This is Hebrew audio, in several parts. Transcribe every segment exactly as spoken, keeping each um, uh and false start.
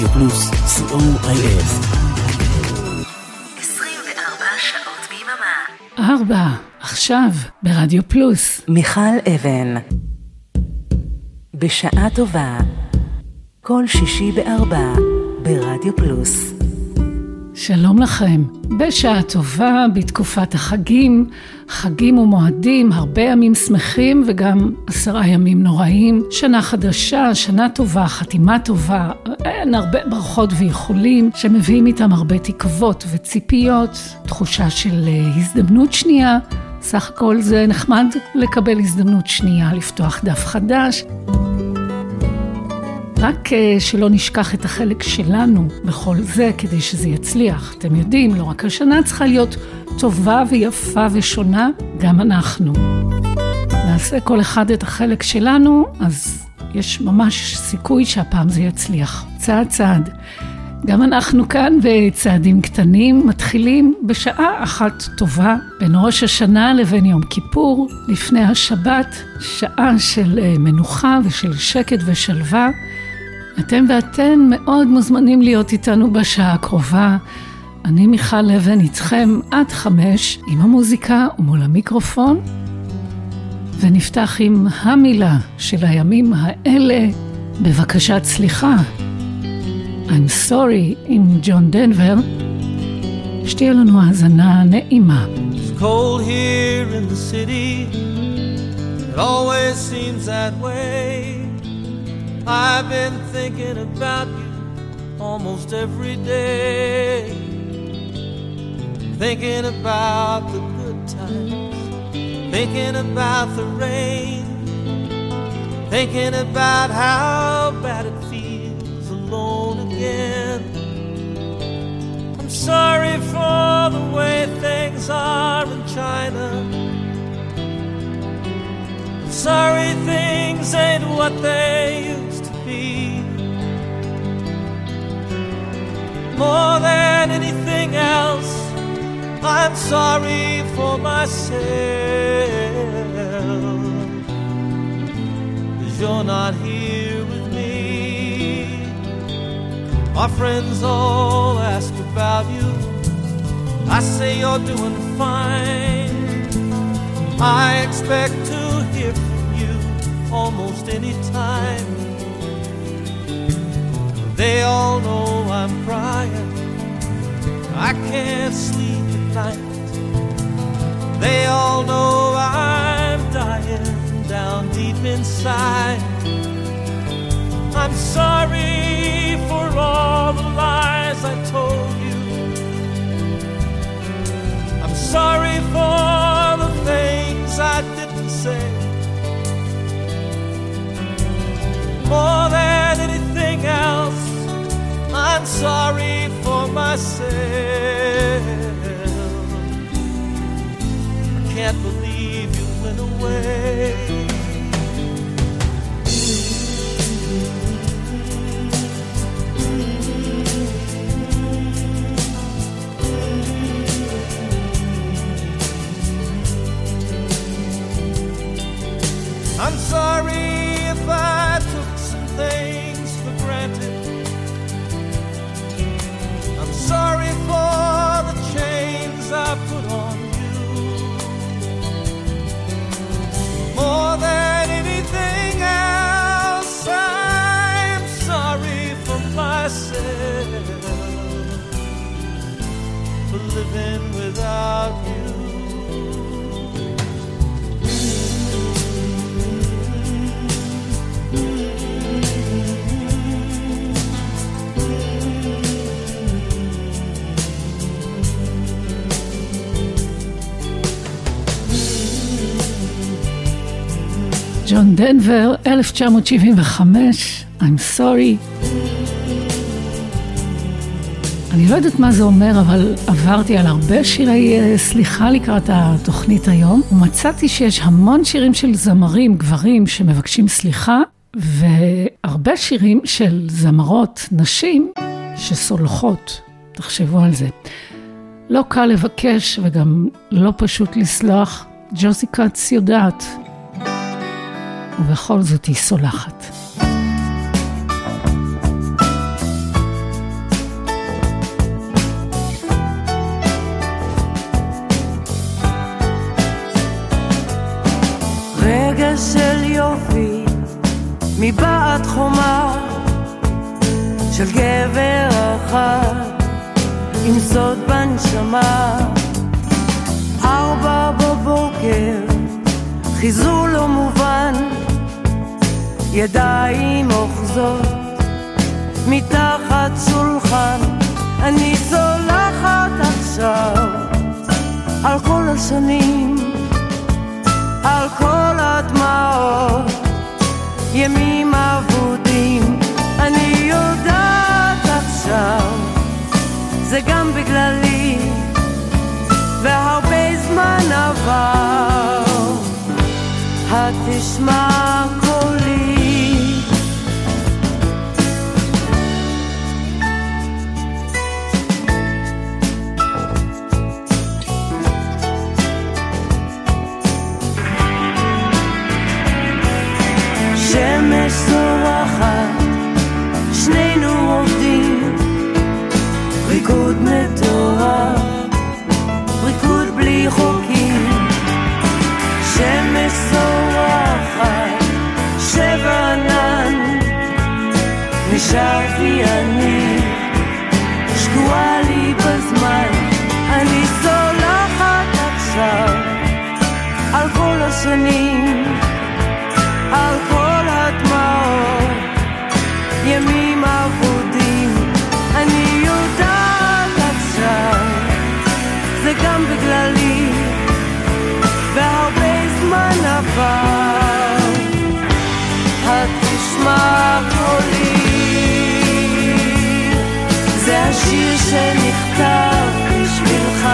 רדיו פלוס, סי או איי אס. עשרים וארבע שעות ביממה. ארבע, עכשיו, ברדיו פלוס. מיכל אבן. בשעה טובה. כל שישי בארבע, ברדיו פלוס. שלום לכם. בשעה טובה, בתקופת החגים, חגים ומועדים, הרבה ימים שמחים וגם עשרה ימים נוראים, שנה חדשה, שנה טובה, חתימה טובה, אין הרבה ברכות ואיחולים שמביאים איתם הרבה תקוות וציפיות, תחושה של הזדמנות שנייה, סך הכל זה נחמד לקבל הזדמנות שנייה, לפתוח דף חדש. רק שלא נשכח את החלק שלנו בכל זה כדי שזה יצליח. אתם יודעים, לא רק השנה צריכה להיות טובה ויפה ושונה, גם אנחנו. נעשה כל אחד את החלק שלנו, אז יש ממש סיכוי שהפעם זה יצליח. צעד צעד. גם אנחנו כאן בצעדים קטנים מתחילים בשעה אחת טובה בין ראש השנה לבין יום כיפור, לפני השבת, שעה של מנוחה ושל שקט ושלווה. אתם ואתן מאוד מוזמנים להיות איתנו בשעה הקרובה. אני מיכל אבן איתכם עד חמש עם המוזיקה ומול המיקרופון. ונפתח עם המילה של הימים האלה, בבקשת סליחה. I'm sorry עם ג'ון דנבר. שתהיה לנו האזנה נעימה. It's cold here in the city. It always seems that way. I've been thinking about you almost every day. Thinking about the good times. Thinking about the rain. Thinking about how bad it feels alone again. I'm sorry for the way things are in China. I'm sorry things ain't what they used to be. More than anything else, I'm sorry for myself, 'cause you're not here with me. My friends all ask about you. I say you're doing fine. I expect to hear from you almost any time. They all know I'm crying. I can't sleep at night. They all know I'm dying down deep inside. I'm sorry for all the lies I told you. I'm sorry for the things I didn't say. More than anything else, I'm sorry for myself. I can't believe you went away. I'm sorry if I took some things for granted. I'm sorry for the chains I put on you. More than anything else, I'm sorry for myself, for living without you. ג'ון דנבר, אלף תשע מאות שבעים וחמש, I'm sorry. אני לא יודעת מה זה אומר, אבל עברתי על הרבה שירי סליחה לקראת התוכנית היום, ומצאתי שיש המון שירים של זמרים, גברים, שמבקשים סליחה, והרבה שירים של זמרות, נשים, שסולחות. תחשבו על זה. לא קל לבקש וגם לא פשוט לסלוח. ג'וזי קאץ יודעת. ובכל זאת היא סולחת. מבעד חומה של גבר אחד עם סוד בנשמה. ארבע בבוקר, חיזור לא מובן, ידיים אוחזות מתחת שולחן. אני סולחת עכשיו על כל השנים, על כל הדמעות, ימים אבודים. אני יודעת עכשיו, זה גם בגללי, והרבה זמן עבר. התשמע קולי, שמש זורחת, שנינו עובדים, ריקוד מטורף, ריקוד בלי חוקים. שמש זורחת, שבר ענן, נשארתי אני, שקועה לי בזמן. אני סולחת עכשיו על כל השנים, על כל הדמעות, ימים אבודים. אני יודעת עכשיו, זה גם בגללי, והרבה זמן עבר. התשמע קולי, זה השיר שנכתב בשבילך,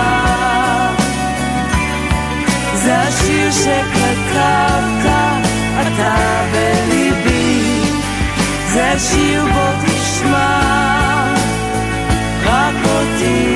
זה השיר שכתבת אתה בליבי, זה השיר בו תשמע רק אותי.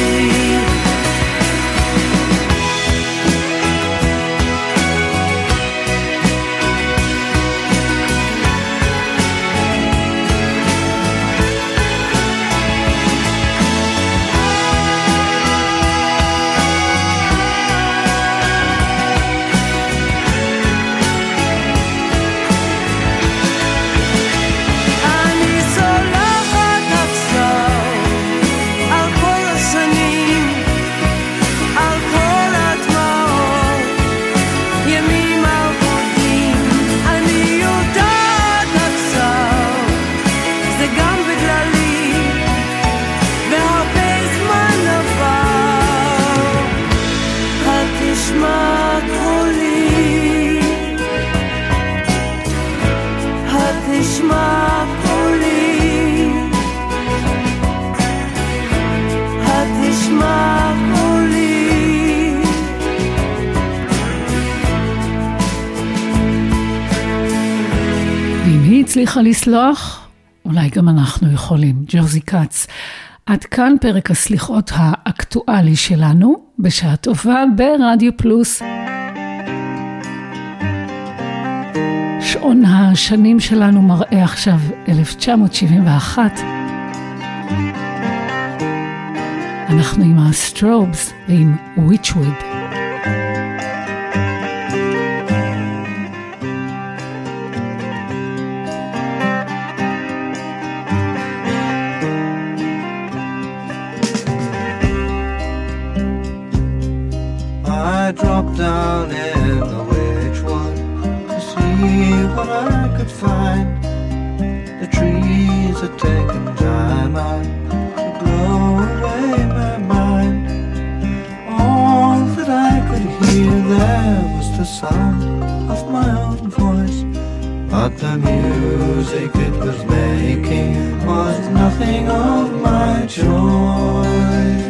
הצליחה לסלוח, אולי גם אנחנו יכולים. ג'וזי קאץ. עד כאן פרק הסליחות האקטואלי שלנו, בשעה טובה ברדיו פלוס. שעון השנים שלנו מראה עכשיו אלף תשע מאות שבעים ואחת. אנחנו עם הסטרובס ועם וויצ'ווד. Dropped down in the Wedgewood to see what I could find. The trees had taken time out to blow away my mind. All that I could hear there was the sound of my own voice, but the music it was making was nothing of my choice.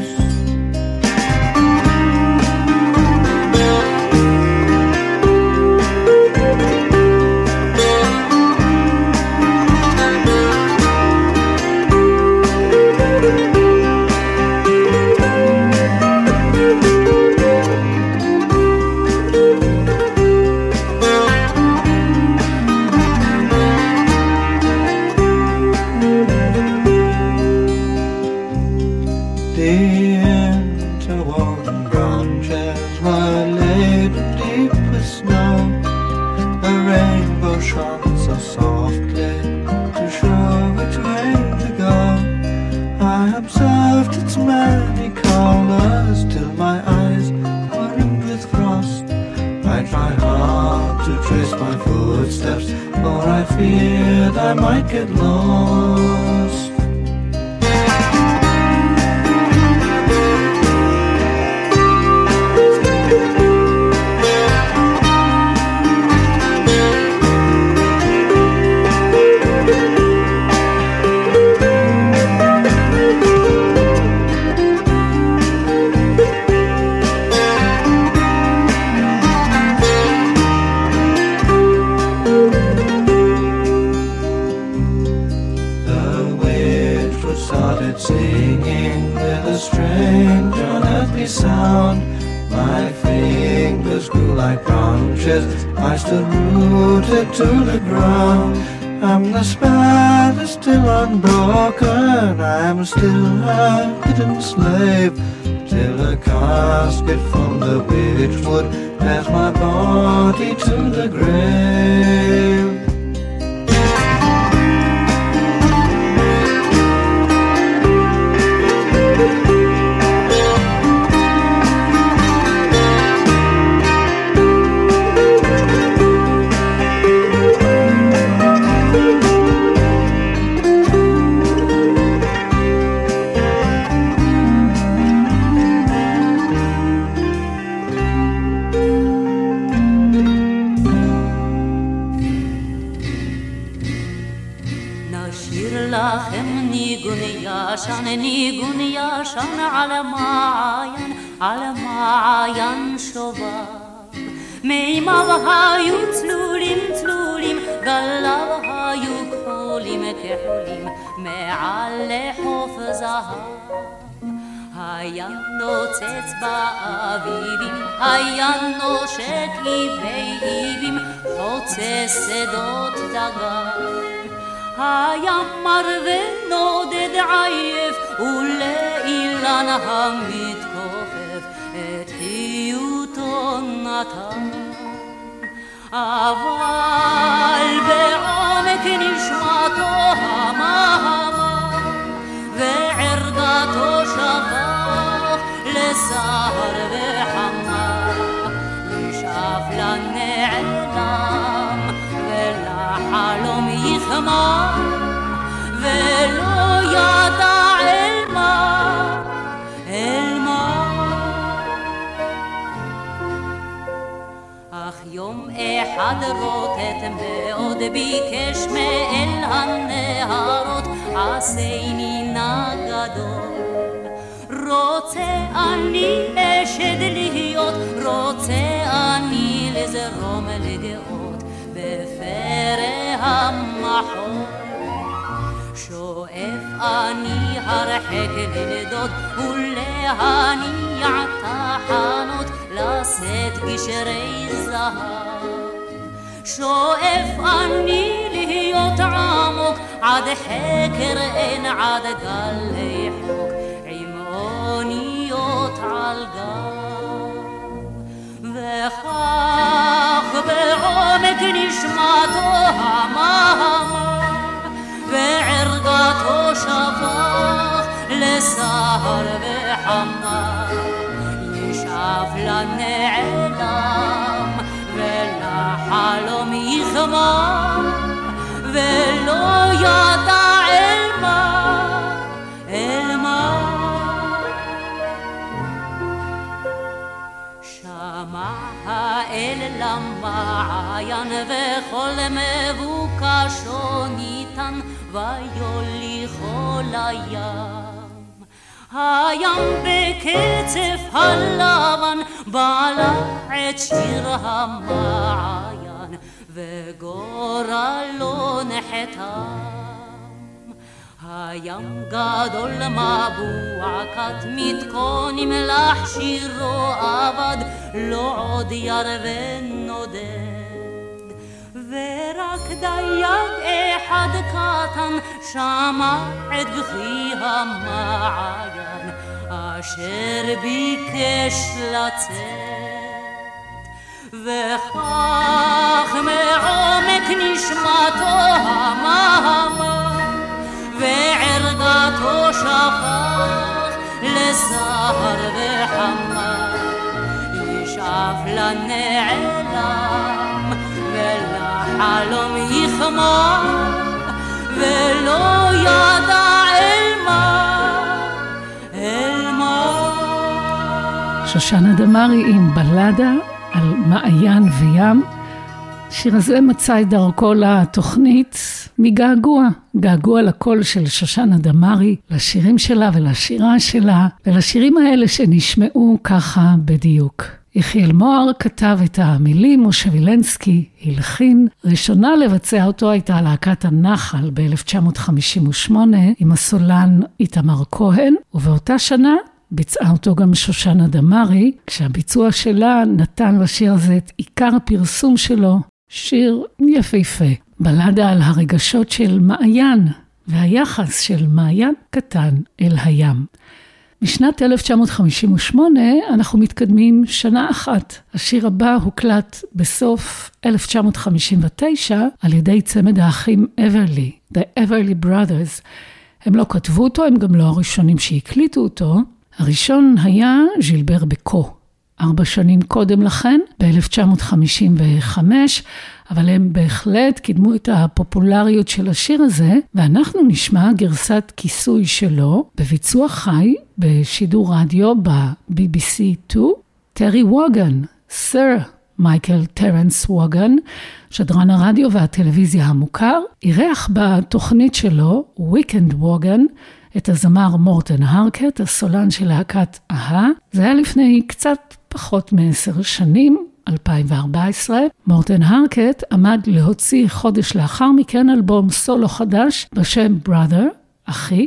Soft to trace my footsteps, for I feared I might get lost. Singing with a strange unearthly sound, my fingers grew like branches, I stood rooted to the ground. I'm the spell that's still unbroken, I'm still a hidden slave, till a casket from the witchwood bears my body to the grave. ישן ניגון ישן על מעיין, על מעיין שובב. מימיו היו צלולים צלולים, גליו היו כחולים כחולים, מעל לחוף זהב. היה נוצץ באביבים, היה נושק איבי איבים, חוצה שדות דגן. היה מר ונודד עייף, ולאילן המתכופף את חיותו נתן. אבל בעומק נשמתו המהמה, וערגתו שפך לסהר וחמה, נשאף לנעלם ולחלום יחמה, ולא ידע אל מה, אל מה. אך יום אחד רוטט מאוד ביקש מאל הנהרות, עשני נא גדול. רוצה אני אשד להיות, רוצה אני לזרום לגאות בפרא המחול. שואף אני הרחק לנדוד ולהניע תחנות, לשאת גשרי זהב. שואף אני להיות עמוק עד חקר אין, עד גלי חוק עם אוניות על גב. וכך בעומק נשמתו המהמה, וערגתו שפך לסהר וחמה, ישאף לנעלם ולחלום יחמה, ולא ידע אל מה, אל מה. שמע האל למעיין וכל מבוקשו ניתן, ויוליכו לים. הים בקצף הלבן בלע את שיר המעיין, וגורלו נחתם. הים גדול מבוע כת מתכונים לך שירו אבד, לא עוד ירווה נודד. ורק דייג אחד קטן שמע את בכי המעיין, אשר ביקש לצאת. וכך מעומק נשמתו המהמה, וערגתו שפך לסהר וחמה, ישאף לנעלם חלום יחמר ולא ידע אל מה, אל מה. שושנה דמארי עם בלדה על מעיין וים. השיר הזה מצא את דרכו לתוכנית מגעגוע, געגוע לקול של שושנה דמארי, לשירים שלה ולשירה שלה, ולשירים האלה שנשמעו ככה בדיוק. יחיאל מוהר כתב את המילים, משה וילנסקי הלחין. ראשונה לבצע אותו הייתה להקת הנחל ב-אלף תשע מאות חמישים ושמונה עם הסולן איתמר כהן, ובאותה שנה ביצעה אותו גם שושנה דמארי, כשהביצוע שלה נתן לשיר הזה את עיקר הפרסום שלו, שיר יפהפה, בלדה על הרגשות של מעיין והיחס של מעיין קטן אל הים. בשנת אלף תשע מאות חמישים ושמונה אנחנו מתקדמים שנה אחת. השיר הבא הוקלט בסוף אלף תשע מאות חמישים ותשע על ידי צמד האחים אברלי, The Everly Brothers. הם לא כתבו אותו, הם גם לא הראשונים שהקליטו אותו. הראשון היה ז'ילבר בקו. ארבע שנים קודם לכן, ב-אלף תשע מאות חמישים וחמש, אבל הם בהחלט קידמו את הפופולריות של השיר הזה, ואנחנו נשמע גרסת כיסוי שלו בביצוע חי בשידור רדיו ב-בי בי סי שתיים. טרי ווגן, סר מייקל טרנס ווגן, שדרן הרדיו והטלוויזיה המוכר, אירח בתוכנית שלו, וויקנד ווגן, את הזמר מורטן הרקט, הסולן של להקת אהה. זה היה לפני קצת פחות מעשר שנים, אלפיים וארבע עשרה. מורטן הרקט עמד להוציא חודש לאחר מכן אלבום סולו חדש בשם Brother, אחי,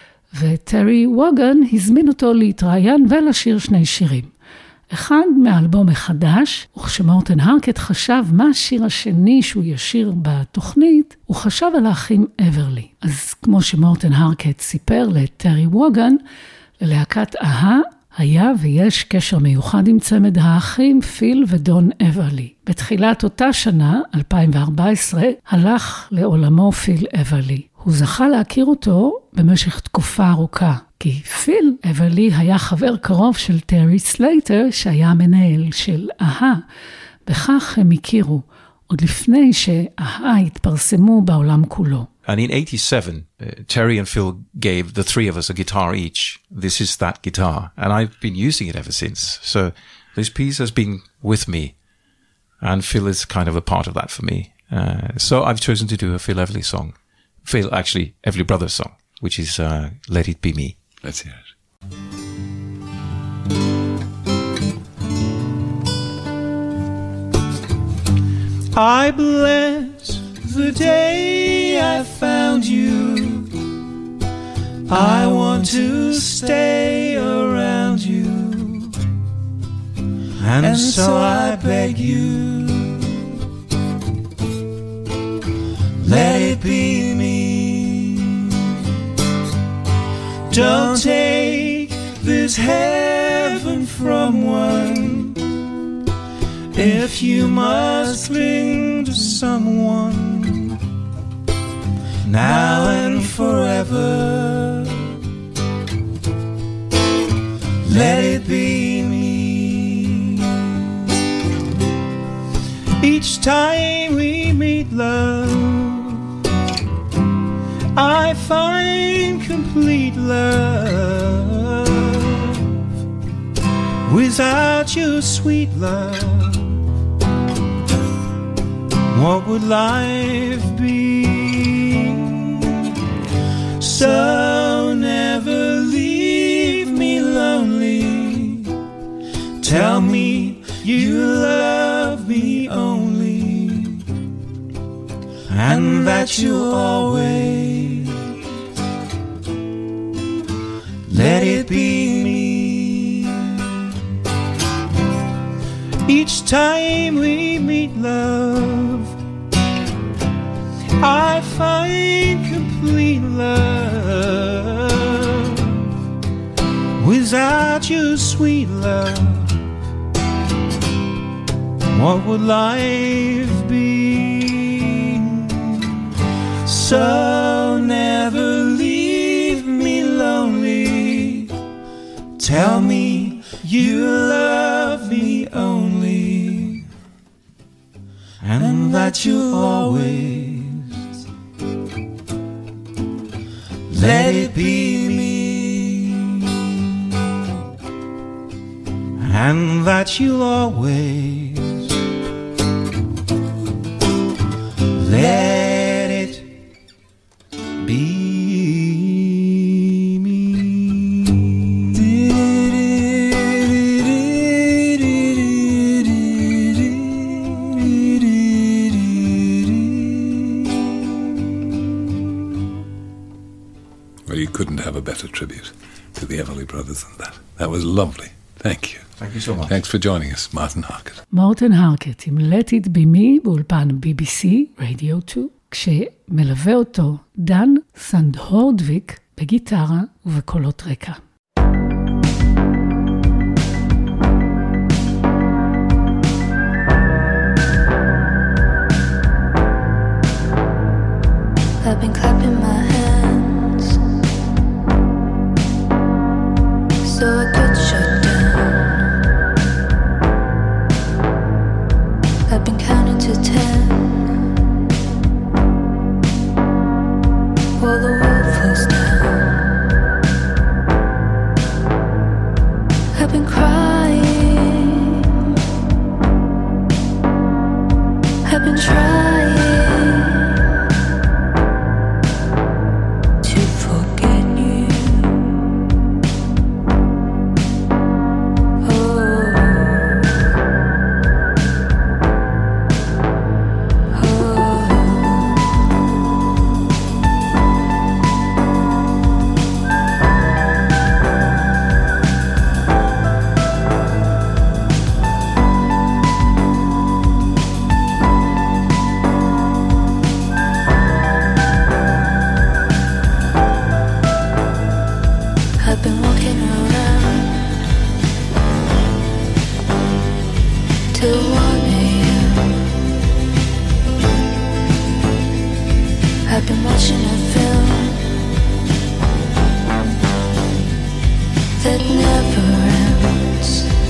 וטרי ווגן הזמין אותו להתראיין ולשיר שני שירים. אחד מהאלבום החדש, וכשמורטן הרקט חשב מה השיר השני שהוא ישיר בתוכנית, הוא חשב על האחים אברלי. אז כמו שמורטן הרקט סיפר לטרי ווגן, ללהקת אהה היה ויש קשר מיוחד עם צמד האחים פיל ודון אברלי. בתחילת אותה שנה, אלפיים וארבע עשרה, הלך לעולמו פיל אברלי. הוא זכה להכיר אותו במשך תקופה ארוכה, כי פיל אברלי היה חבר קרוב של טרי סלייטר, שהיה מנהל של אהה. בכך הם הכירו, עוד לפני שאהה התפרסמו בעולם כולו. And in eighty-seven, uh, Terry and Phil gave the three of us a guitar each. This is that guitar. And I've been using it ever since. So this piece has been with me. And Phil is kind of a part of that for me. Uh, so I've chosen to do a Phil Everly song. Phil, actually, Everly Brothers song, which is uh, Let It Be Me. Let's hear it. I bless the day I found you. I want to stay around you, and, and so I beg you, let it be me. Don't take this heaven from one. If you must cling to someone now and forever, let it be me. Each time we meet, love, I find complete love. Without your sweet love, what would life be? So never leave me lonely. Tell me you love me only, and that you'll always let it be me. Each time we meet, love, I find complete love. Without your sweet love, what would life be? So never leave me lonely. Tell me you love me only, and that you always let it be me, and that you'll always let it be me. Well, you couldn't have a better tribute to the Everly Brothers than that. That was lovely. Thank you. Thank you so much. Thanks for joining us, Martin Harkett. מורטן הרקט עם Let It Be Me באולפן בי בי סי, רדיו שתיים, כשמלווה אותו דן סנדהורדוויק בגיטרה ובקולות רקע. I've been clapping my hands so I could shut down. I've been counting to ten while the world falls down. I've been crying, I've been trying to forget you. I've been walking around till one a.m. I've been watching a film that never ends.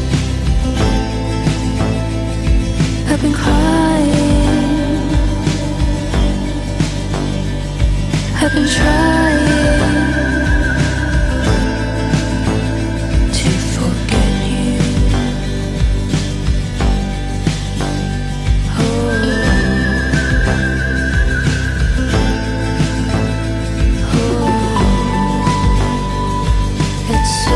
I've been crying, I've been trying to forget you. Oh, oh, it's so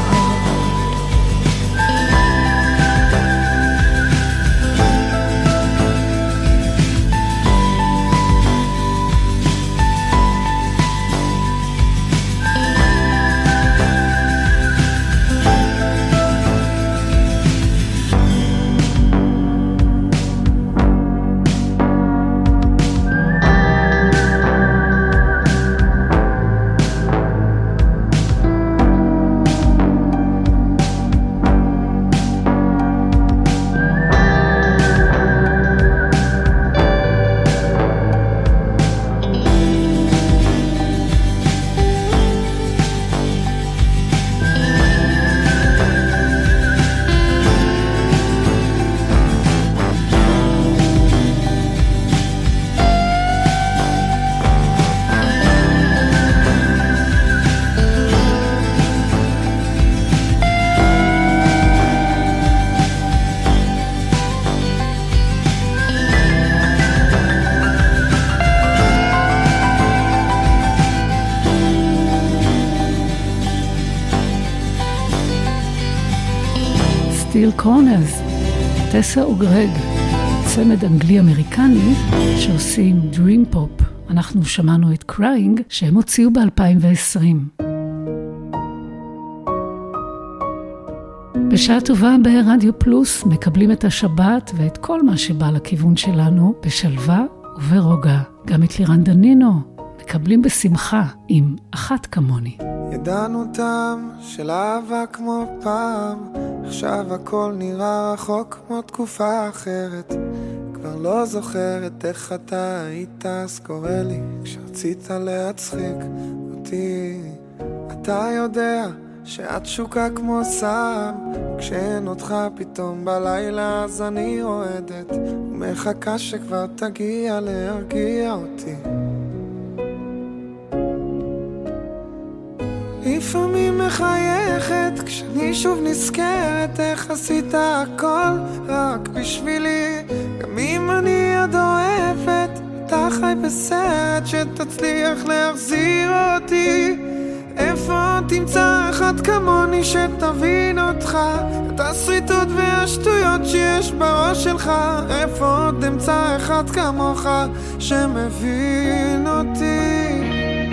סטיל קורנרס, טסה וגרג, צמד אנגלי-אמריקני שעושים דרים פופ. אנחנו שמענו את קריינג שהם הוציאו ב-אלפיים ועשרים. בשעה טובה ברדיו פלוס מקבלים את השבת ואת כל מה שבא לכיוון שלנו בשלווה וברוגע. גם את לירן דנינו מקבלים בשמחה עם אחת כמוני. ידענו טעם של אהבה כמו פעם, עכשיו הכל נראה רחוק כמו תקופה אחרת. כבר לא זוכרת איך אתה היית, אז קורא לי כשרצית להצחיק אותי. אתה יודע שאת שוקה כמו סם, כשאין אותך פתאום בלילה אז אני רועדת מחכה שכבר תגיע להרגיע אותי. לפעמים מחייכת כשאני שוב נזכרת איך עשית הכל רק בשבילי. גם אם אני עוד אוהבת, אתה חי בסרט שתצליח להחזיר אותי. איפה תמצא אחד כמוני שתבין אותך, את הסריטות והשטויות שיש בראש שלך. איפה עוד אמצא אחד כמוך שמבין אותי.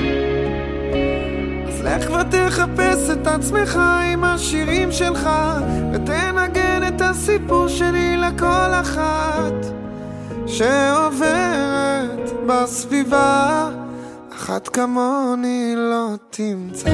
אז לך ותחפש את עצמך עם השירים שלך, ותנגן את הסיפור שלי לכל אחת שעוברת בסביבה. אחת כמוני לא תמצא.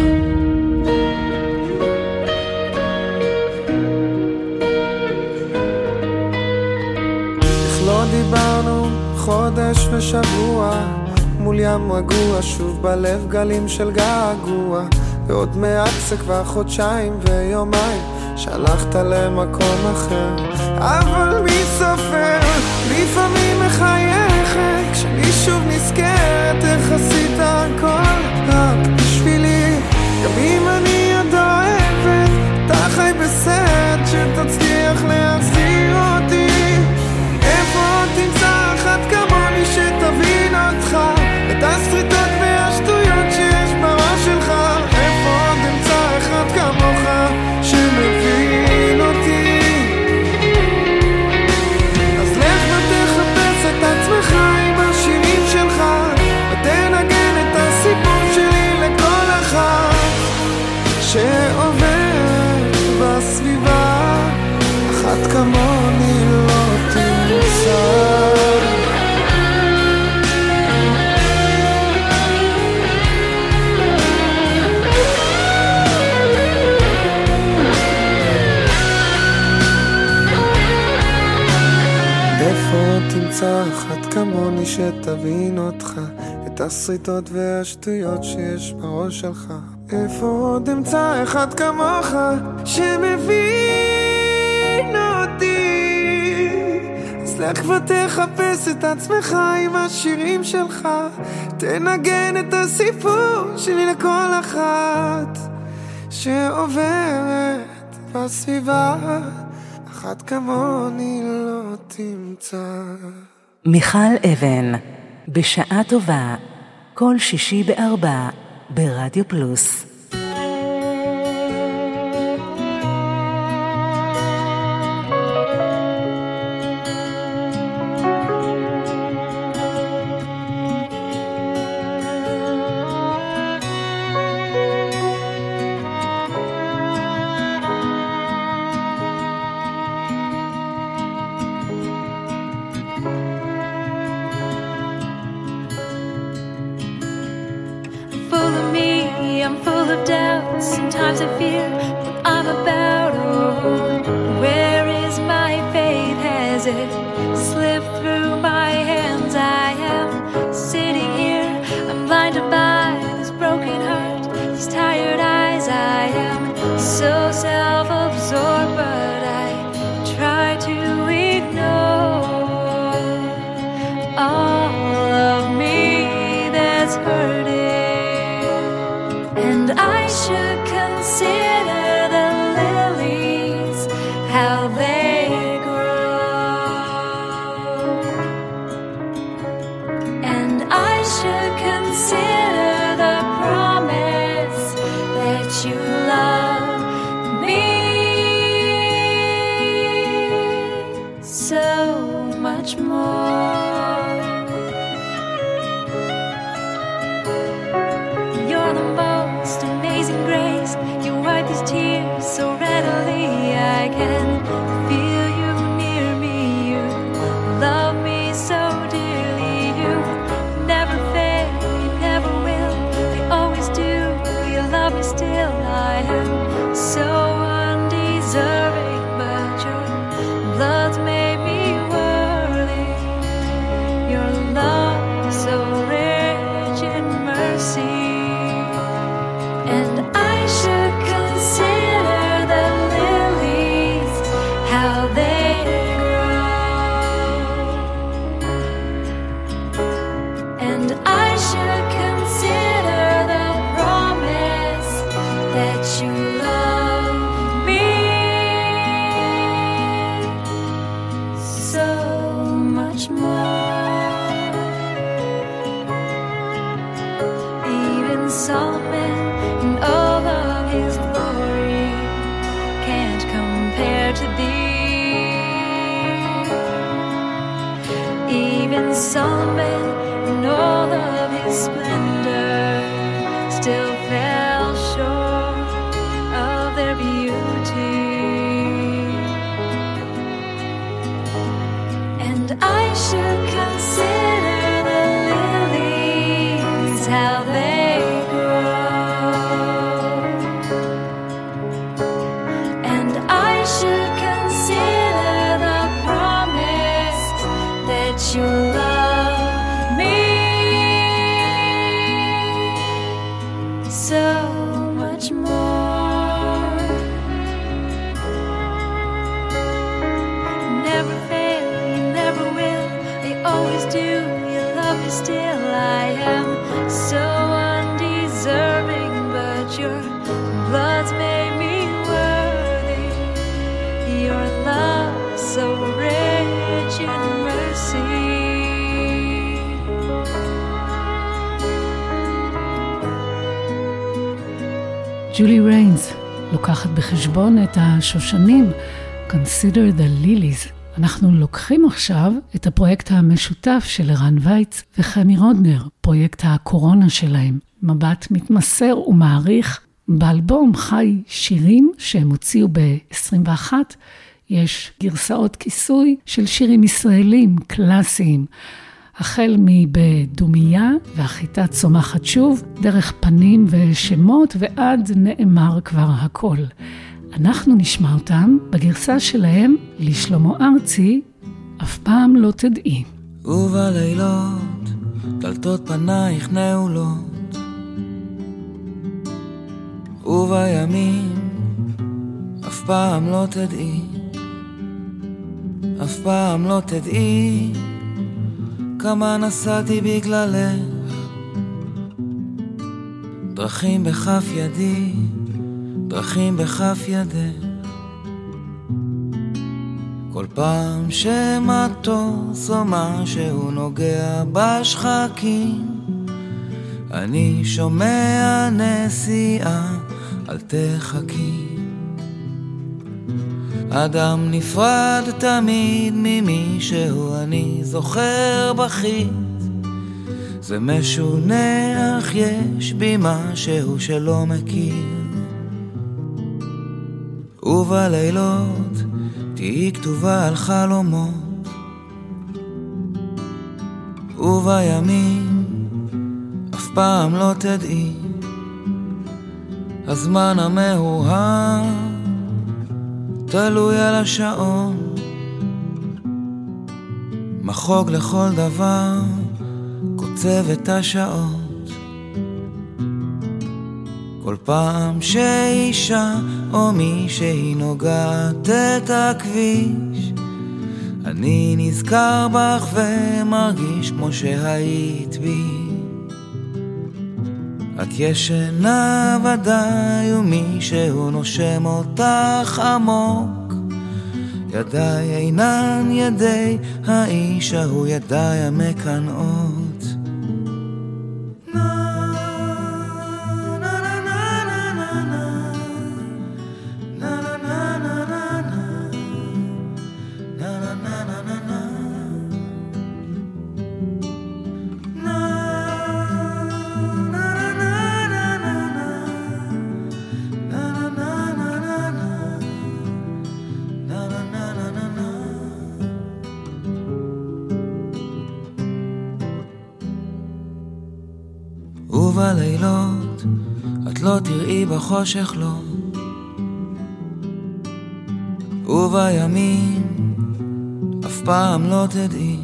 איך לא דיברנו חודש ושבוע, מול ים רגוע, שוב בלב גלים של געגוע. ועוד מעט זה כבר חודשיים ויומיים שהלכת למקום אחר, אבל מי סופר? לפעמים מחייכת כשאני שוב נזכרת איך עשית הכל רק בשבילי. גם אם אני עוד אוהבת, אתה חי בסרט שתצליח להחזיר אותי. איפה תמצא אחת כמוני שתבין אותך, את הסריטות והשטויות שיש בראש שלך. איפה עוד אמצא אחד כמוך שמבין אותי. אז לך ותחפש את עצמך עם השירים שלך, ותנגן את הסיפור שלי לכל אחת שעוברת בסביבה. אחת כמוני לא תמצא. תמצא אחת כמוני שתבין אותך, את הסריטות והשטויות שיש בראש שלך. איפה עוד אמצא אחד כמוך שמבין אותי. אז לך ותחפש את עצמך עם השירים שלך, תנגן את הסיפור שלי לכל אחת שעוברת בסביבה. אחת כמוני לא תמצא. מיכל אבן, בשעה טובה, כל שישי בארבע, ברדיו פלוס. Sometimes I feel what I'm about. Oh, where is my faith? Has it slipped through my hands? I am sitting here, I'm blinded by this broken heart, these tired eyes. I am so self-absorbed, but I try to ignore all of me that's hurting. And I should consider the lilies, how they grow. And I should consider the promise that you love me so much more. And I should consider the promise that you love me so much more. Even Solomon in all of his glory can't compare to thee. Even Solomon in all of his splendor still fell short of their beauty. And I should consider the lilies, how they grow. And I should consider the promise that you love me so much more. Never fail, you never will, you always do, you love me still. I am so undeserving, but your blood's made me worthy. Your love so rich in mercy. ג'ולי ריינס לוקחת בחשבון את השושנים, Consider the Lilies. אנחנו לוקחים עכשיו את הפרויקט המשותף של ערן וייץ וחמי רודנר, פרויקט הקורונה שלהם. מבט מתמסר ומעריך. באלבום חי שירים שהם הוציאו ב-עשרים ואחת, יש גרסאות כיסוי של שירים ישראלים קלאסיים, החל מבדומיה והחיטה צומחת שוב, דרך פנים ושמות ועד נאמר כבר הכל. אנחנו נשמע אותם בגרסה שלהם לשלמה ארצי, אף פעם לא תדעי. ובלילות דלתות פנייך נעולות, ובימים אף פעם לא תדעי, אף פעם לא תדעי כמה נסעתי בגללך, דרכים בכף ידי, דרכים בכף ידך. כל פעם שמטוס או משהו נוגע בשחקים, אני שומע נסיעה, אל תחכי. אדם נפרד תמיד ממי שהוא, אני זוכר בחית, זה משונה אך יש בי משהו שלא מכיר. ובלילות תהי כתובה על חלומות, ובימים אף פעם לא תדעי, הזמן המאוהב תלוי על השעון, מחוג לכל דבר קוצב את השעות. כל פעם שאישה או מי שהיא נוגעת את הכביש, אני נזכר בך ומרגיש כמו שהיית בי. את ישנה ודאי ומישהו נושם אותך עמוק, ידיי אינן ידי האיש ההוא, ידיי המקנאות. ובלילות את לא תראי בחושך לא, ובימים אף פעם לא תדעי,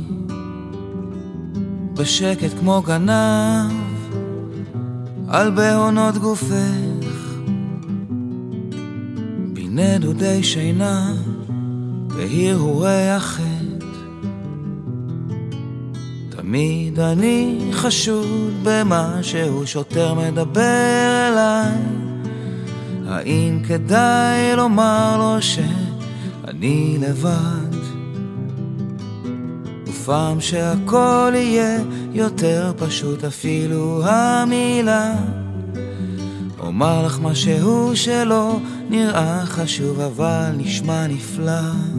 בשקט כמו גנב על בהונות גופך, בנדודי שינה בהרהורי החטא, תמיד אני חשוד במה שהוא שוטר מדבר אליי. האם כדאי לומר לו שאני לבד? ופעם שהכל יהיה יותר פשוט אפילו המילה, אומר לך משהו שלא נראה חשוב אבל נשמע נפלא.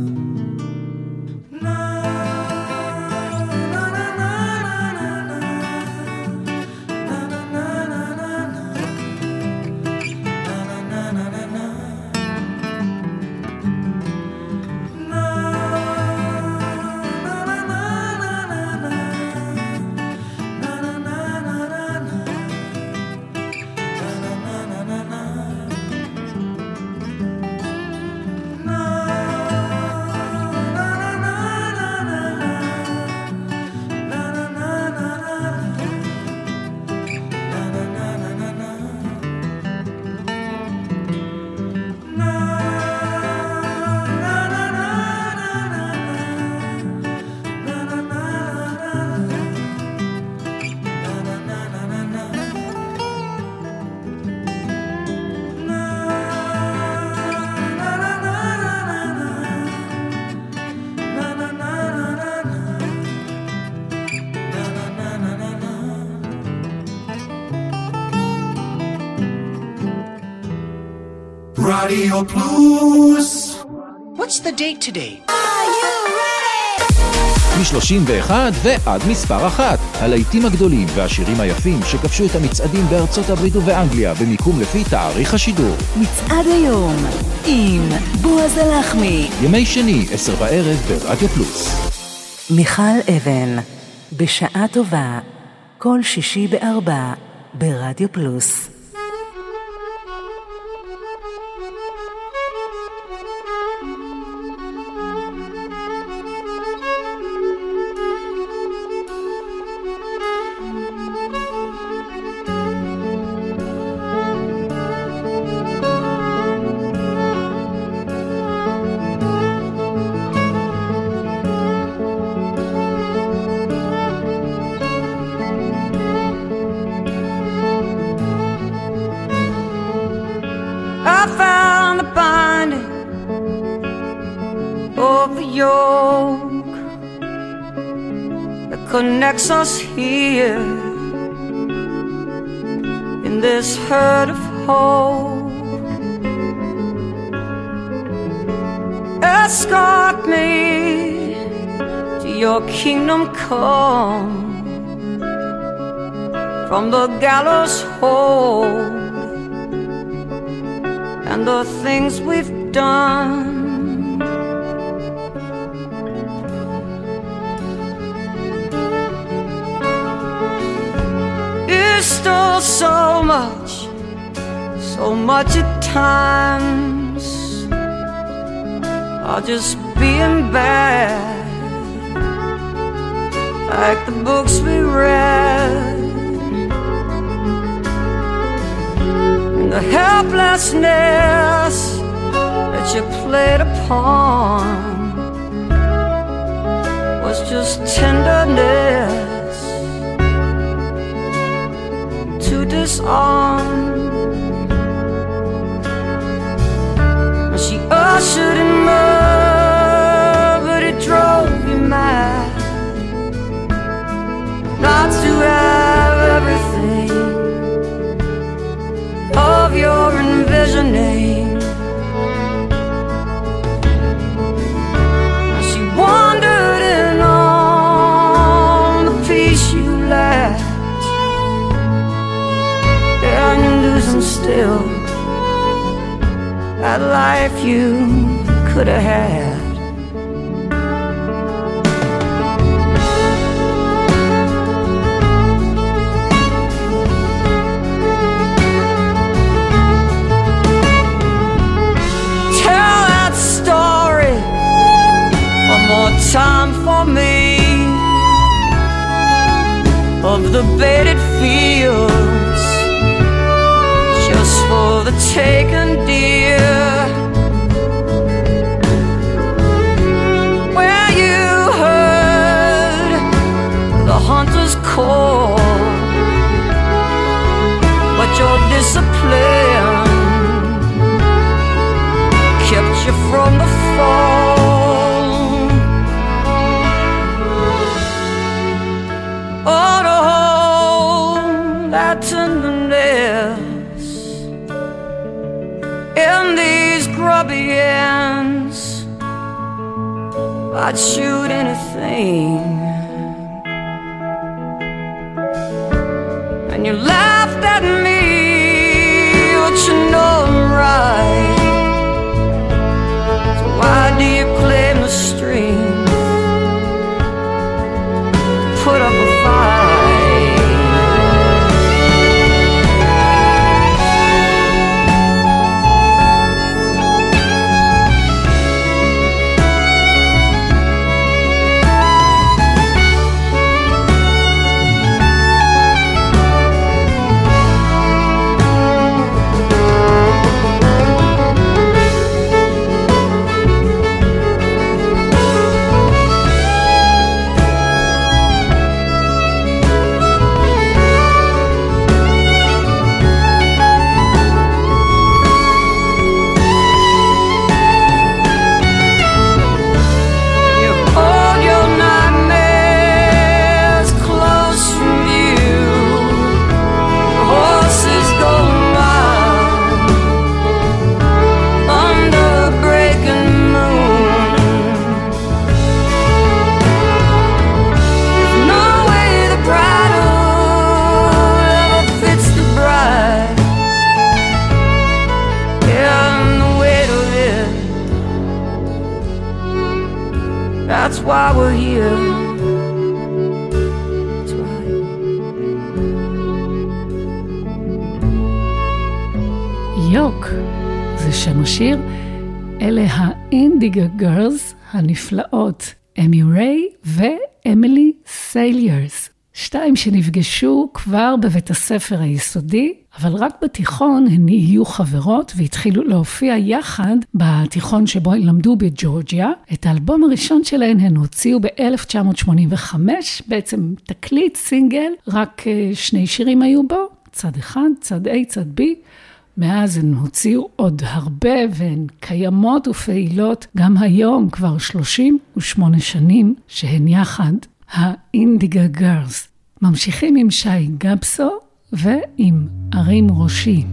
Radio Plus. What's the date today? מ-שלושים ואחת ועד מספר אחת. הלהיטים הגדולים והשירים היפים שכבשו את המצעדים בארצות הברית ובאנגליה במיקום לפי תאריך השידור. מצעד היום עם בועז הלחמי. ימי שני, עשר בערב ברדיו פלוס. מיכל אבן, בשעה טובה, כל שישי בארבע ברדיו פלוס. Connects us here in this herd of hope. Escort me to your kingdom come, from the gallows hold and the things we've done. Stole so much, so much at times. I'll just being bad, like the books we read, and the helplessness that you played upon was just tenderness to disarm. She ushered him up, but it drove me mad not to have everything of your envisioning. She wandered in on the peace you left, and you're losing still that life you could have had. Tell that story one more time for me, of the baited fields just for the taken deer, where you heard the hunt discipline kept you from the fall. Oh, to hold that tenderness in these grubby hands, I'd shoot anything. And you laughed at me, but you know I'm right. So why do you claim the strength to put up a fight? That's why we're here. That's right. יוק, זה שם השיר. אלה האינדיגו גרלס הנפלאות, אמי ריי ואמילי סיילרס. שתיים שנפגשו כבר בבית הספר היסודי, אבל רק בתיכון הן נהיו חברות והתחילו להופיע יחד בתיכון שבו הן למדו בג'ורג'יה. את האלבום הראשון שלהן הן הוציאו ב-אלף תשע מאות שמונים וחמש, בעצם תקליט סינגל, רק שני שירים היו בו, צד אחד, צד A, צד B. מאז הן הוציאו עוד הרבה והן קיימות ופעילות גם היום, כבר שלושים ושמונה שנים שהן יחד, האינדיגו גרלס. ממשיכים עם שי גבסו ועם ערים ראשי.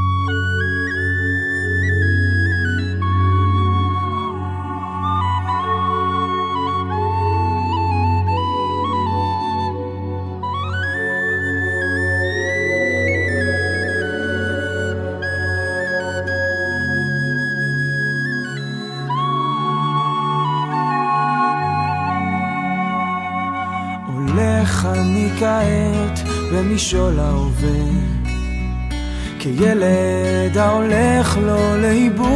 הולך אני כעת במשעול ההווה, כילד ההולך לו לאיבוד,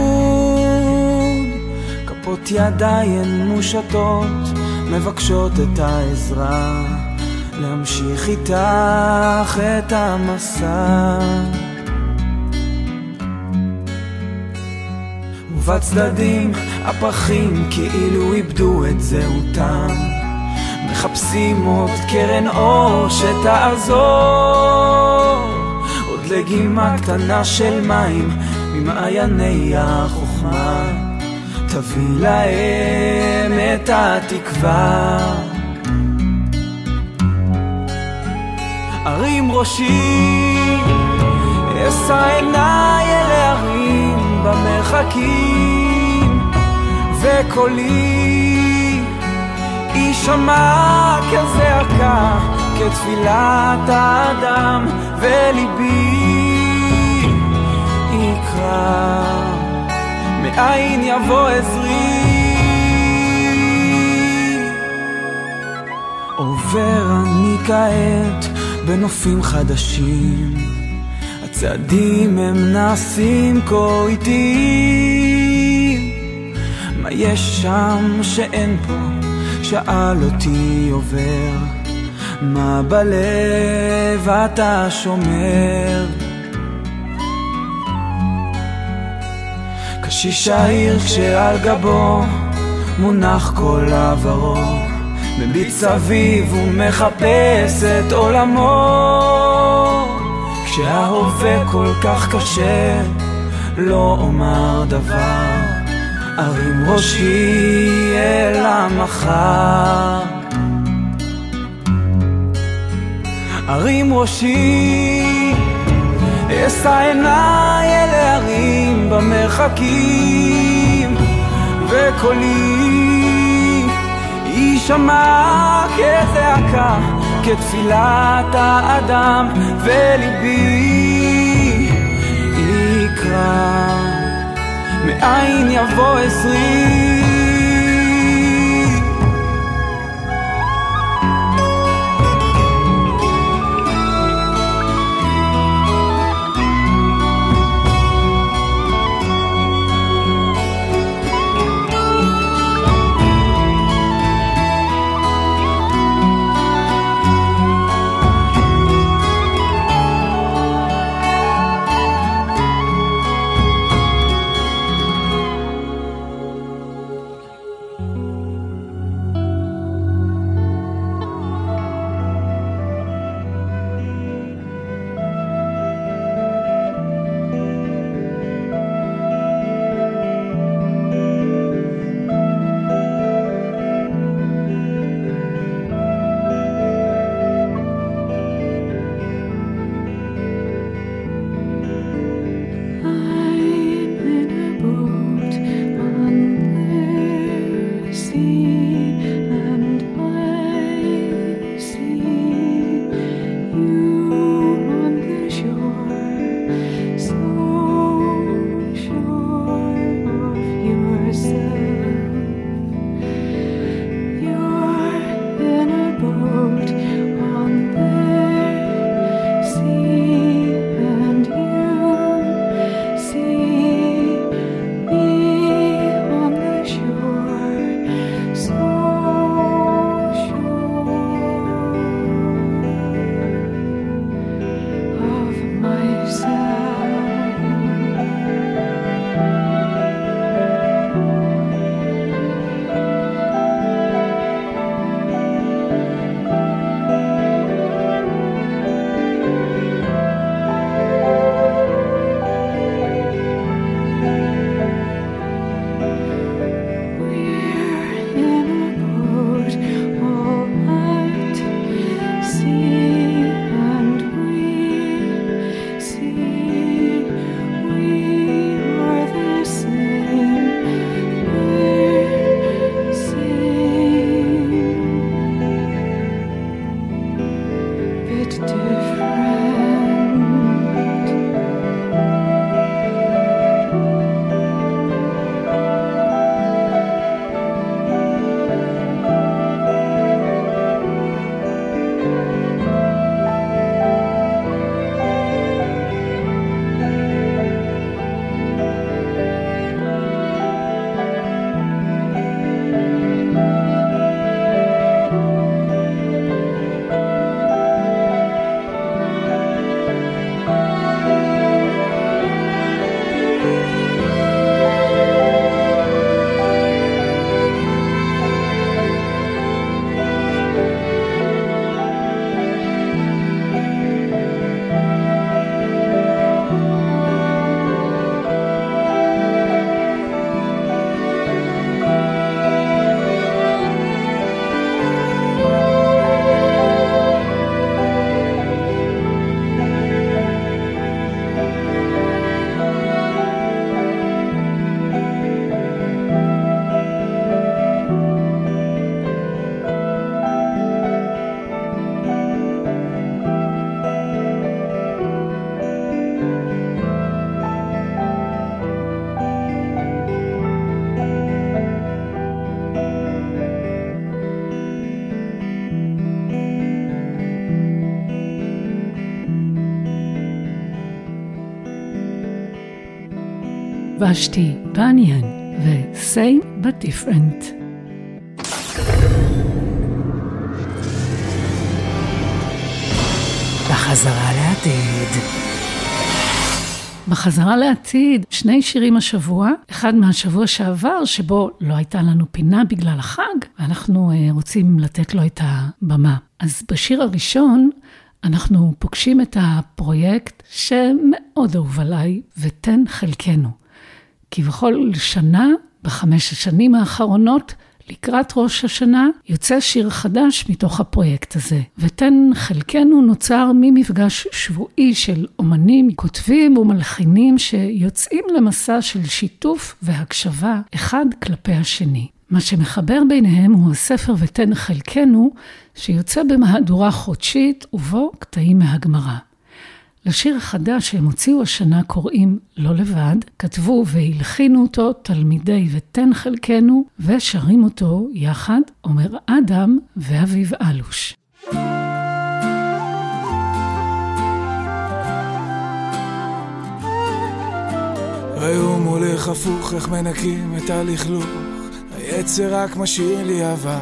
כפות ידיים מושטות מבקשות את העזרה, להמשיך איתך את המסע. ובצדדים הפחים כאילו איבדו את זהותם, מחפשים עוד קרן אור שתעזור, עוד לגימה קטנה של מים ממעייני החוכמה, תביא להם את התקווה. ערים ראשי, אשא עיניי אל הערים במרחקים, וקולי יישמע כזעקה, כתפילת האדם, וליבי יקרא, מאין יבוא עזרי. עובר אני כעת בנופים חדשים, הצעדים הם נעשים כה איטיים, מה יש שם שאין פה? שאל אותי עובר, מה בלב אתה שומר? קשיש העיר כשעל גבו מונח כל עברו, מביט סביב ומחפש את עולמו, כשההווה כל כך קשה, לא אומר דבר, ארים ראשי אל המחר. ארים ראשי, אשא עיניי אל הערים במרחקים, וקולי יישמע כזעקה, כתפילת האדם, וליבי יקרא מאין יבוא עזרי. Vashti Bunyan ו-Same but Different. בחזרה לעתיד. בחזרה לעתיד, שני שירים השבוע, אחד מהשבוע שעבר, שבו לא הייתה לנו פינה בגלל החג, ואנחנו רוצים לתת לו את הבמה. אז בשיר הראשון, אנחנו פוגשים את הפרויקט שמאוד אהוב עליי, ותן חלקנו. כי בכל שנה, בחמש השנים האחרונות, לקראת ראש השנה, יוצא שיר חדש מתוך הפרויקט הזה. ותן חלקנו נוצר ממפגש שבועי של אומנים, כותבים ומלחינים שיוצאים למסע של שיתוף והקשבה אחד כלפי השני. מה שמחבר ביניהם הוא הספר ותן חלקנו, שיוצא במהדורה חודשית ובו קטעים מהגמרא. לשיר החדש שהם הוציאו השנה קוראים לא לבד, כתבו והלחינו אותו תלמידי ותן חלקנו, ושרים אותו יחד עומר אדם ואביב אלוש. היום הולך הפוך, איך מנקים את הלכלוך, היצר רק משאיר לי אבק,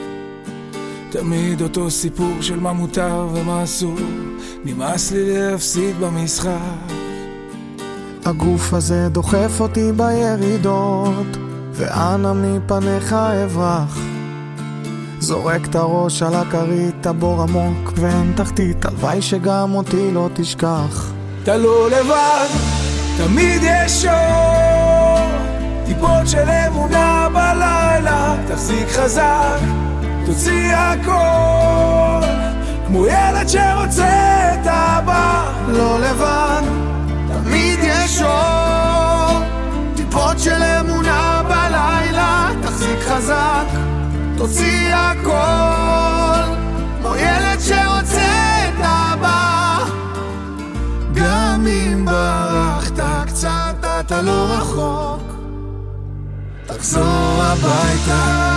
תמיד אותו סיפור של מה מותר ומה אסור, נמאס לי להפסיד במשחק. הגוף הזה דוחף אותי בירידות, ואנה מפניך אברח, זורק את הראש על הכרית, הבור עמוק ואין תחתית, הלוואי שגם אותי לא תשכח. אתה לא לבד, תמיד יש אור, טיפות של אמונה בלילה, תחזיק חזק, תוציא הכל, כמו ילד שרוצה את אבא. לא לבד, תמיד יש אור, טיפות של אמונה בלילה, תחזיק חזק, תוציא הכל, כמו ילד שרוצה את אבא. גם אם ברחת קצת אתה לא רחוק, תחזור הביתה.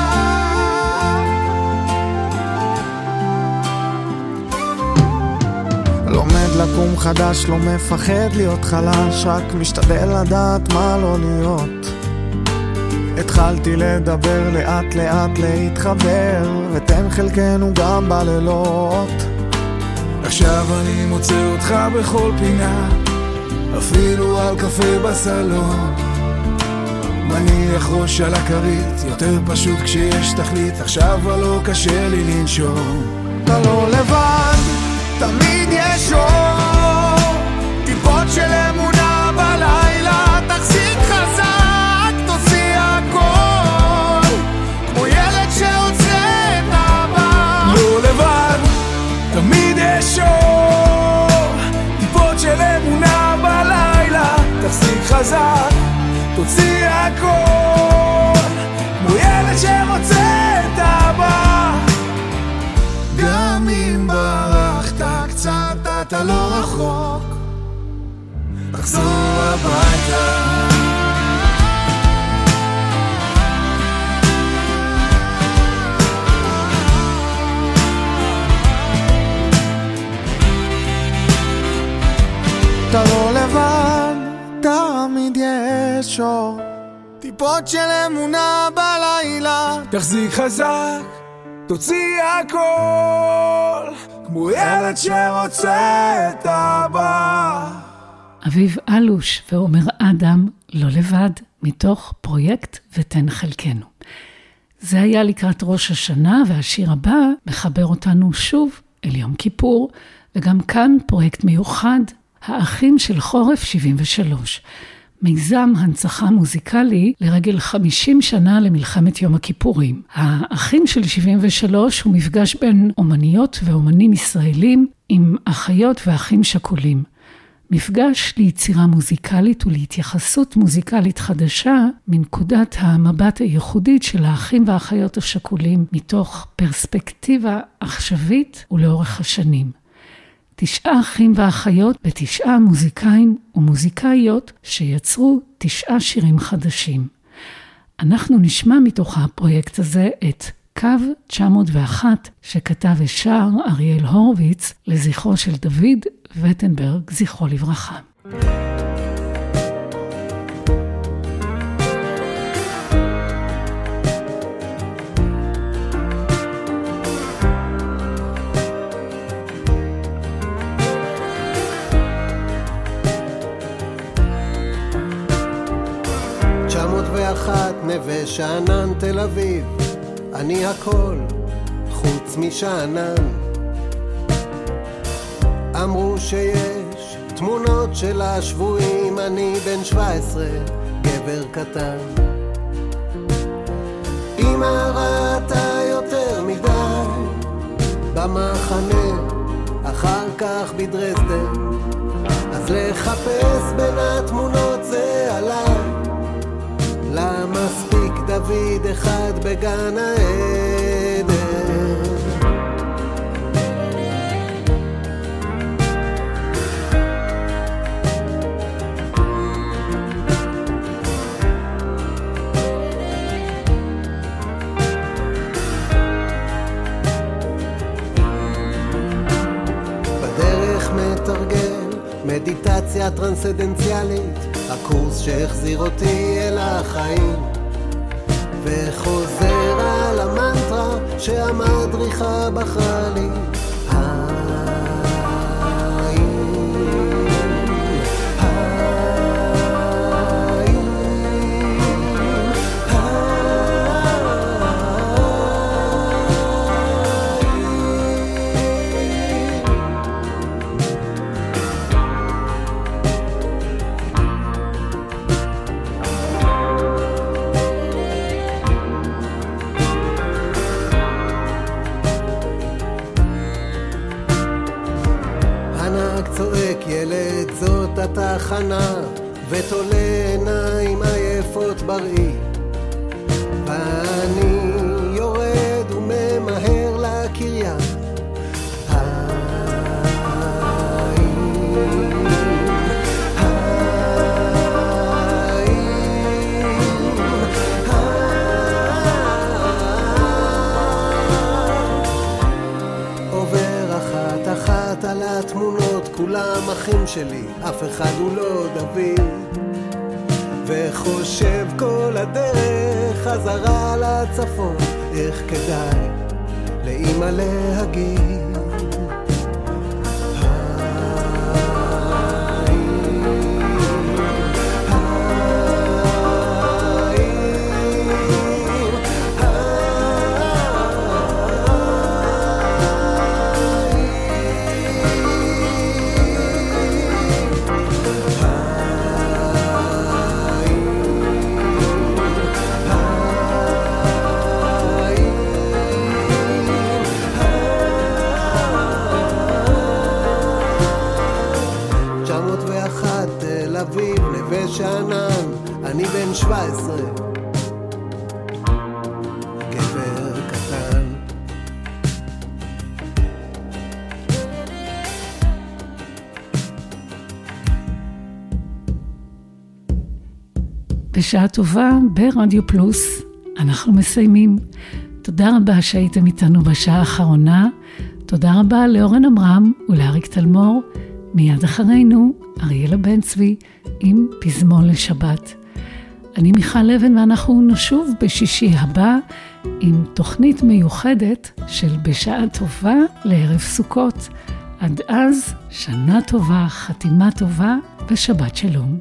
לומד לקום חדש, לא מפחד להיות חלש, רק משתדל לדעת מה לא להיות. התחלתי לדבר לאט לאט להתחבר, ותן חלקנו גם בלילות. עכשיו אני מוצא אותך בכל פינה, אפילו על קפה בסלון, מניח ראש על הכרית, יותר פשוט כשיש תכלית, עכשיו לא קשה לי לנשום. אתה לא לבד, תמיד יש אור, טיפות של אמונה בלילה, תחזיק חזק, תוציא הכל, כמו ילד שרוצה את אבא. לא לבד, תמיד יש אור, טיפות של אמונה בלילה, תחזיק חזק, תוציא הכל, כמו ילד שרוצה את אבא. גם אם ברחת קצת אתה לא רחוק, תחזור הביתה. אתה לא לבד, תמיד יש אור, טיפות של אמונה בלילה, תחזיק חזק, תוציא הכל, כמו ילד שרוצה את אבא. אביב אלוש ועומר אדם לא לבד, מתוך פרויקט ותן חלקנו. זה היה לקראת ראש השנה, והשיר הבא מחבר אותנו שוב אל יום כיפור, וגם כאן פרויקט מיוחד, האחים של חורף שבעים ושלוש. מיזם הנצחה מוזיקלי לרגל חמישים שנה למלחמת יום הכיפורים. האחים של שבעים ושלוש הוא מפגש בין אומניות ואומנים ישראלים עם אחיות ואחים שכולים. מפגש ליצירה מוזיקלית ולהתייחסות מוזיקלית חדשה מנקודת המבט הייחודית של האחים והאחיות השכולים מתוך פרספקטיבה עכשווית ולאורך השנים. תשעה אחים ואחיות בתשעה מוזיקאים ומוזיקאיות שיצרו תשעה שירים חדשים. אנחנו נשמע מתוך הפרויקט הזה את קו תשע מאות ואחת שכתב ושר אריאל הורוביץ לזכרו של דוד וטנברג, זכרו לברכה. נווה שאנן תל אביב, אני הכל חוץ משאנן. אמרו שיש תמונות של השבויים, אני בן שבע עשרה, גבר קטן. אמא ראתה יותר מדי במחנה, אחר כך בדרזדן, אז לחפש בין התמונות זה עליי. למה מספיק דוד אחד בגן העדן? בדרך מתרגל מדיטציה טרנסדנציאלית, הקורס שהחזיר אותי אל החיים, וחוזר על המנטרה שהמדריכה בחרה לי. ילד זאת התחנה, ותולה עיניים עייפות בראי, ואני יורד וממהר לקריה. עובר אחת אחת על התמונות, כולם אחים שלי, אף אחד הוא לא דוד, וחושב כל הדרך חזרה לצפון, איך כדאי לאמא להגיד. שאנן, אני בן שבע עשרה, גבר קטן. בשעה טובה ברדיו פלוס אנחנו מסיימים. תודה רבה שהייתם איתנו בשעה האחרונה. תודה רבה לאורן אמרם ולאריק תלמור. מיד אחרינו אריאלה בן צבי עם פזמון לשבת. אני מיכל לבן ואנחנו נשוב בשישי הבא עם תוכנית מיוחדת של בשעה טובה לערב סוכות. עד אז שנה טובה, חתימה טובה ושבת שלום.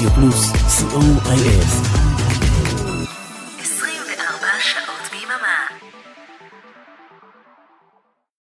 רדיו פלוס, סי או איי אס.